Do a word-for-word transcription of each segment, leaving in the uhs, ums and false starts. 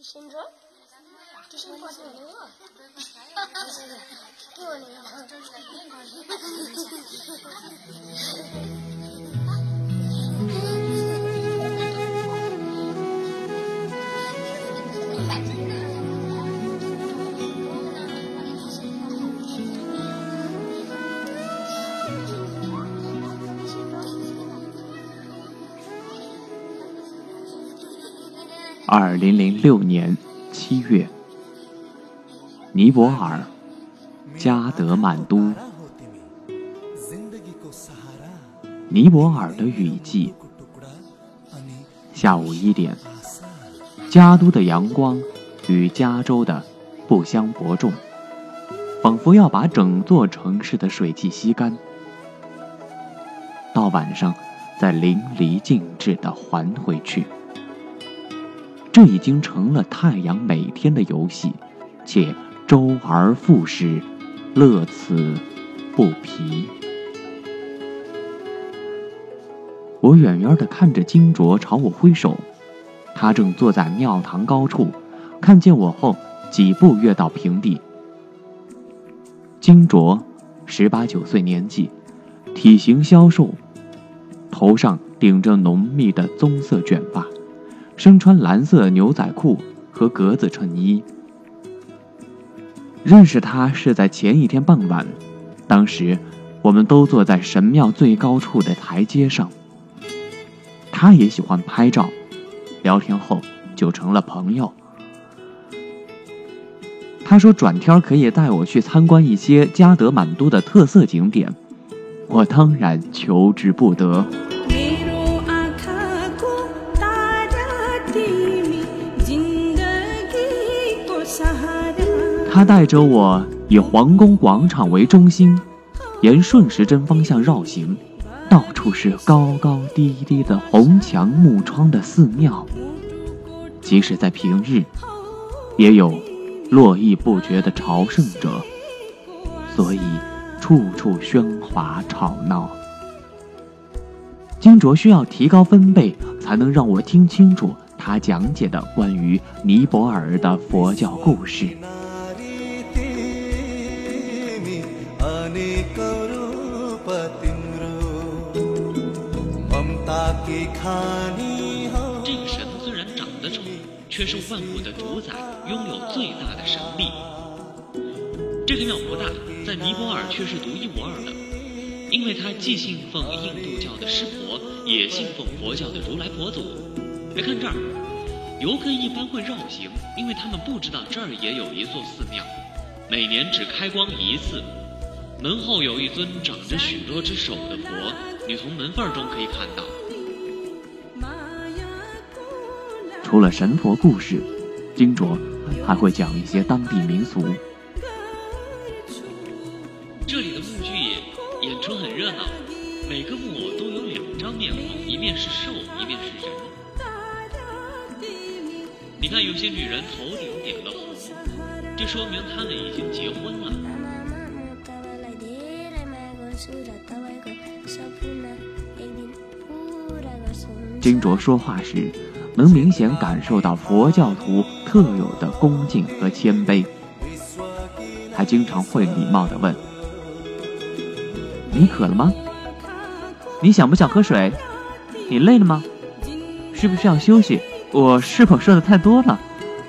先说，就先挂给我那个，不是的，给我那个，这是另外一个。 二零零六年七月，尼泊尔加德满都。尼泊尔的雨季，下午一点，加都的阳光与加州的不相伯仲，仿佛要把整座城市的水汽吸干。到晚上，再淋漓尽致地还回去。这已经成了太阳每天的游戏，且周而复始，乐此不疲。我远远地看着金卓朝我挥手，他正坐在庙堂高处，看见我后几步跃到平地。金卓十八九岁年纪，体型消瘦，头上顶着浓密的棕色卷发，身穿蓝色牛仔裤和格子衬衣。认识他是在前一天傍晚，当时我们都坐在神庙最高处的台阶上。他也喜欢拍照，聊天后就成了朋友。他说转天可以带我去参观一些加德满都的特色景点，我当然求之不得。他带着我以皇宫广场为中心，沿顺时针方向绕行，到处是高高低低的红墙木窗的寺庙，即使在平日，也有络绎不绝的朝圣者，所以处处喧哗吵闹。金卓需要提高分贝，才能让我听清楚他讲解的关于尼泊尔的佛教故事。 这个神虽然长得丑，却是万物的主宰，拥有最大的神力。这个庙不大，在尼泊尔却是独一无二的，因为它既信奉印度教的湿婆，也信奉佛教的如来佛祖。别看这儿，游客一般会绕行，因为他们不知道这儿也有一座寺庙，每年只开光一次。门后有一尊长着许多只手的佛，你从门缝中可以看到。 除了神佛故事，金卓还会讲一些当地民俗。 这里的木剧演出很热闹，每个木偶都有两张面孔，一面是兽，一面是人。你看有些女人头顶点了红，这说明她们已经结婚了。 金卓说话时，能明显感受到佛教徒特有的恭敬和谦卑。他经常会礼貌地问：“你渴了吗？你想不想喝水？你累了吗？需不需要休息？我是否说的太多了？”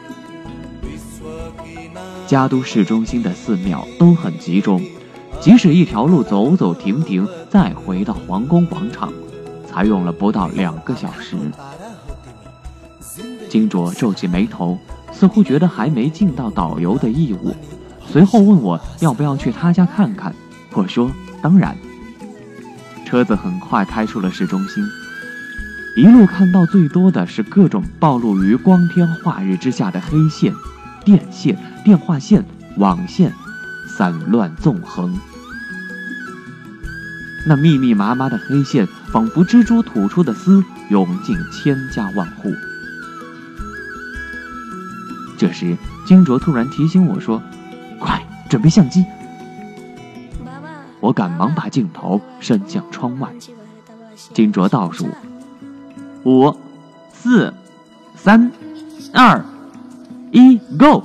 加都市中心的寺庙都很集中，即使一条路走走停停，再回到皇宫广场，才用了不到两个小时。金卓皱起眉头，似乎觉得还没尽到导游的义务，随后问我要不要去他家看看。我说当然。车子很快开出了市中心，一路看到最多的是各种暴露于光天化日之下的黑线、电线、电话线、网线散乱纵横。那密密麻麻的黑线仿佛蜘蛛吐出的丝，涌进千家万户。这时金卓突然提醒我说：“快准备相机。”我赶忙把镜头伸向窗外。金卓倒数：五、四、三、二、 一 Go。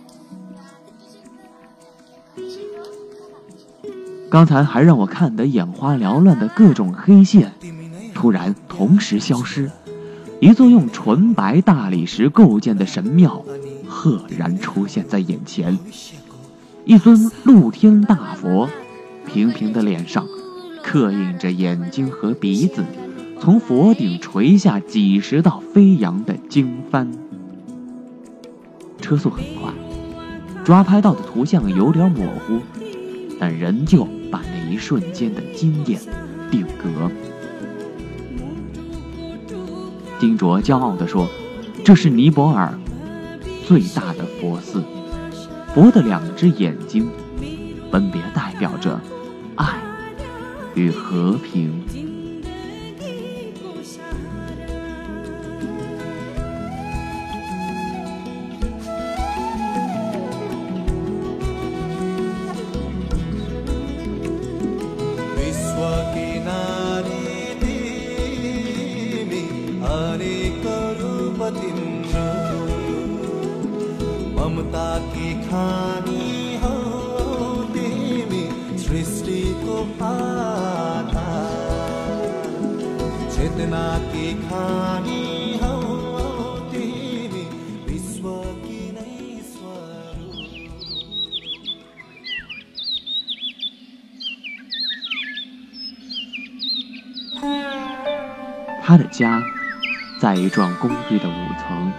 刚才还让我看得眼花缭乱的各种黑线，突然同时消失，一座用纯白大理石构建的神庙赫然出现在眼前。一尊露天大佛，平平的脸上刻印着眼睛和鼻子，从佛顶垂下几十道飞扬的经幡。车速很快，抓拍到的图像有点模糊，但仍旧把那一瞬间的惊艳定格。金卓骄傲地说，这是尼泊尔最大的佛寺，佛的两只眼睛分别代表着爱与和平。 ममता की खानी हो तिमी सृष्टिको आधार चेतना की खानी हो तिमी विश्व की नै स्वरूप। 他的家在一幢公寓的五层，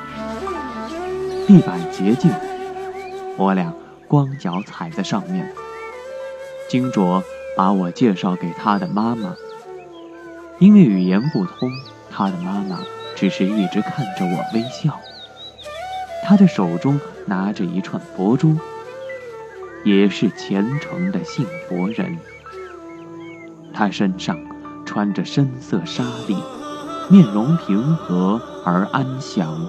地板洁净，我俩光脚踩在上面。金卓把我介绍给他的妈妈，因为语言不通，他的妈妈只是一直看着我微笑。他的手中拿着一串佛珠，也是虔诚的信佛人。他身上穿着深色纱丽，面容平和而安详。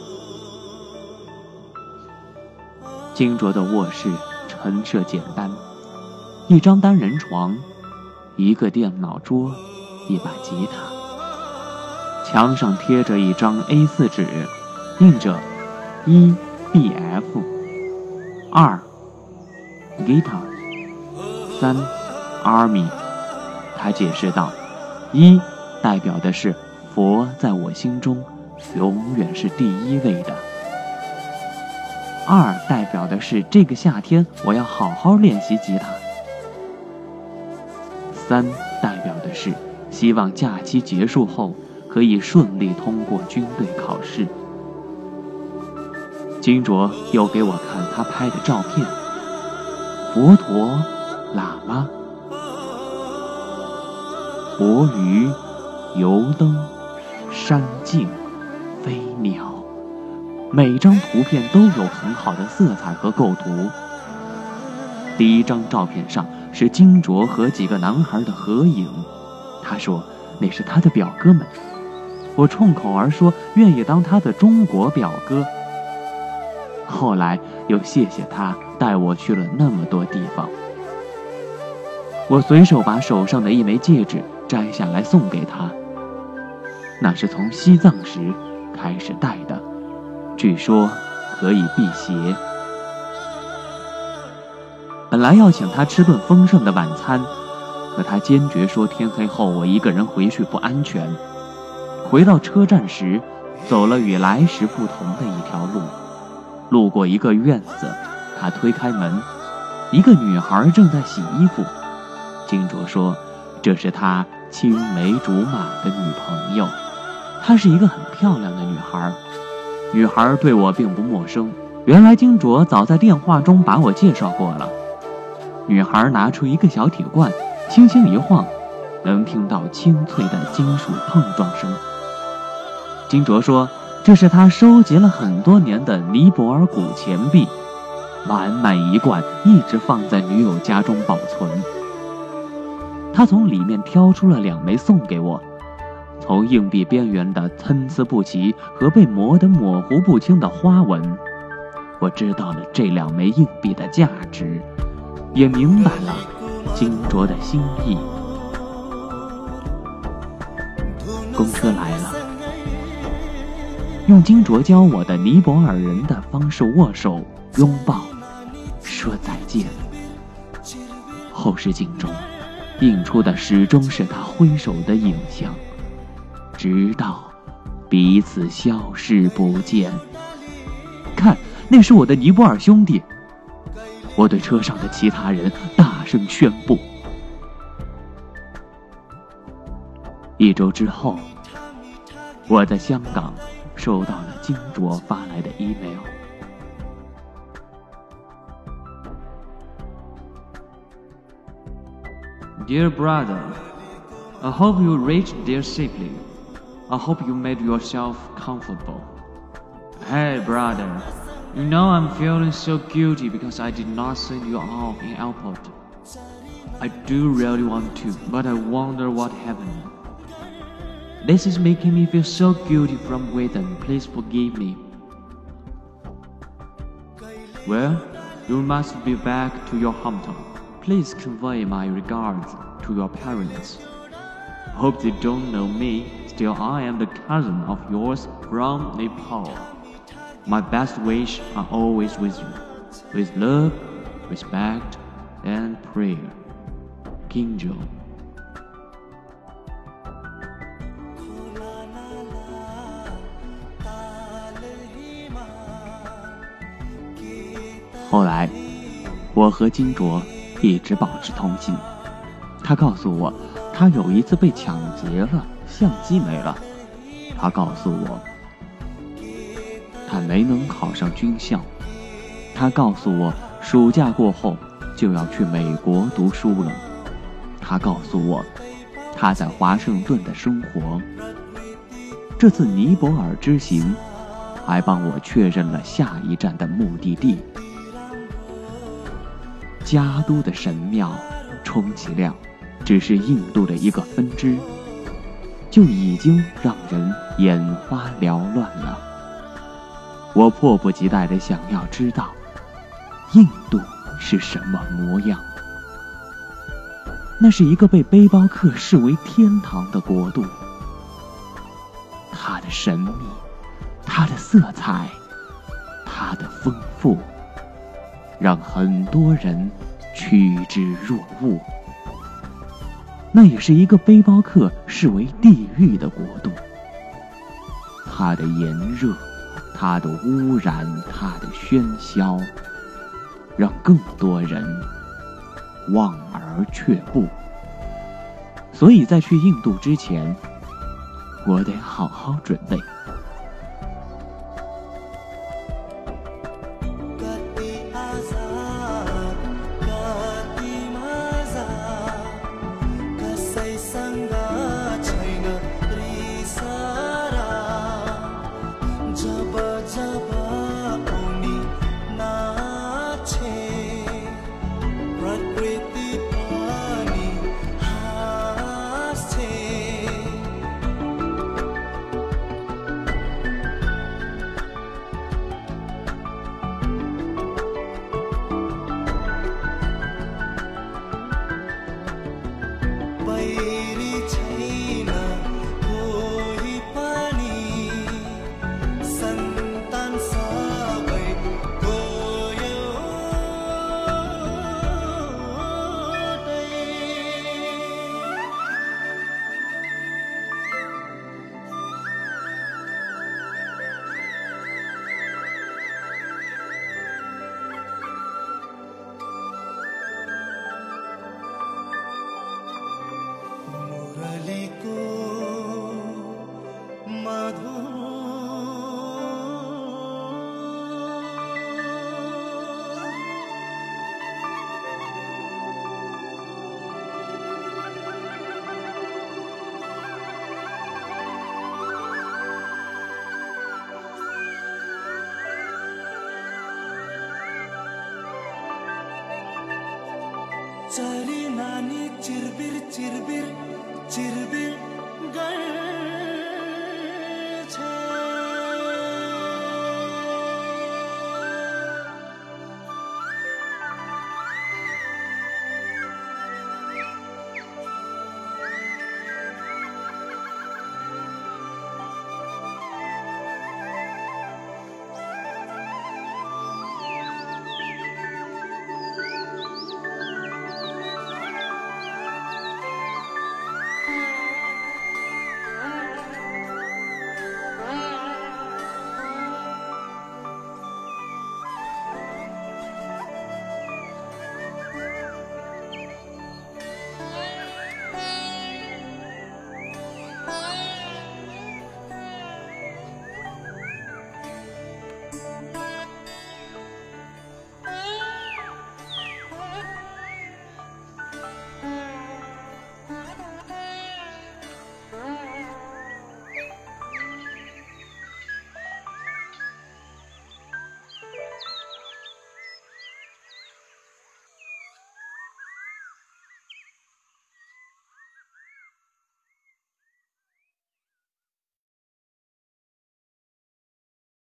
金卓的卧室陈设简单，一张单人床，一个电脑桌，一把吉他。墙上贴着一张 A 四 纸，印着一 B F， 二 Guitar， 三 Army。 他解释道，一代表的是佛在我心中永远是第一位的，二代表的是这个夏天我要好好练习吉他，三代表的是希望假期结束后可以顺利通过军队考试。金卓又给我看他拍的照片，佛陀、喇嘛、活鱼、油灯、山径、飞鸟，每张图片都有很好的色彩和构图。第一张照片上是金卓和几个男孩的合影，他说那是他的表哥们。我冲口而说愿意当他的中国表哥。后来又谢谢他带我去了那么多地方。我随手把手上的一枚戒指摘下来送给他，那是从西藏时开始戴的，据说可以辟邪。本来要请他吃顿丰盛的晚餐，可他坚决说天黑后我一个人回去不安全。回到车站时，走了与来时不同的一条路，路过一个院子，他推开门，一个女孩正在洗衣服。金卓说这是他青梅竹马的女朋友，她是一个很漂亮的女孩。女孩对我并不陌生，原来金卓早在电话中把我介绍过了。女孩拿出一个小铁罐，轻轻一晃，能听到清脆的金属碰撞声。金卓说这是他收集了很多年的尼泊尔古钱币，满满一罐一直放在女友家中保存。他从里面挑出了两枚送给我，从硬币边缘的参差不齐和被磨得模糊不清的花纹，我知道了这两枚硬币的价值，也明白了金卓的心意。公车来了， 用金卓教我的尼泊尔人的方式握手、拥抱、说再见。后视镜中映出的始终是他挥手的影像，直到彼此消失不见。看，那是我的尼泊尔兄弟！我对车上的其他人大声宣布。一周之后，我在香港收到了金卓发来的 email。 Dear brother, I hope you reached there safely. I hope you made yourself comfortable. Hey brother, you know I'm feeling so guilty because I did not send you off in airport. I do really want to, but I wonder what happened. This is making me feel so guilty from within. Please forgive me. Well, you must be back to your hometown. Please convey my regards to your parents. Hope they don't know me. Still, I am the cousin of yours from Nepal. My best wishes are always with you. With love, respect, and prayer. Kinjo。 后来，我和金卓一直保持通信。他告诉我，他有一次被抢劫了，相机没了。他告诉我，他没能考上军校。他告诉我，暑假过后就要去美国读书了。他告诉我，他在华盛顿的生活。这次尼泊尔之行，还帮我确认了下一站的目的地。加都的神庙，充其量只是印度的一个分支，就已经让人眼花缭乱了。我迫不及待地想要知道，印度是什么模样。那是一个被背包客视为天堂的国度，它的神秘，它的色彩，它的丰富，让很多人趋之若鹜。那也是一个背包客视为地狱的国度，它的炎热，它的污染，它的喧嚣，让更多人望而却步。所以在去印度之前，我得好好准备。 चरी नानी चिरबिर चिरबिर चिरबिर गर